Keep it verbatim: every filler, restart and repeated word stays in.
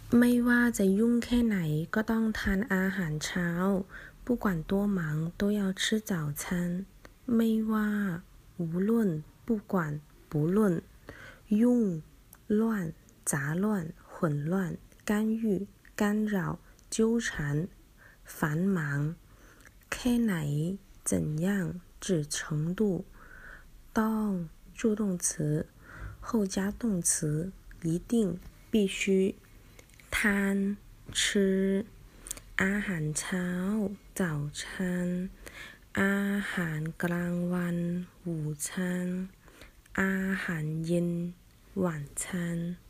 ไม่ว่าจะยุ่งแค่ไหนก็ต้องทานอาหารเช้า不管多忙都要吃早餐ไม่ว่า无论不管不论ยุ่ง乱杂乱混乱干预干扰纠缠繁忙แค่ไหน怎样指程度ต้อง助动词后加动词一定必须ทาน吃อาหารเช้า早餐อาหารกลางวัน午餐อาหารเย็น晚餐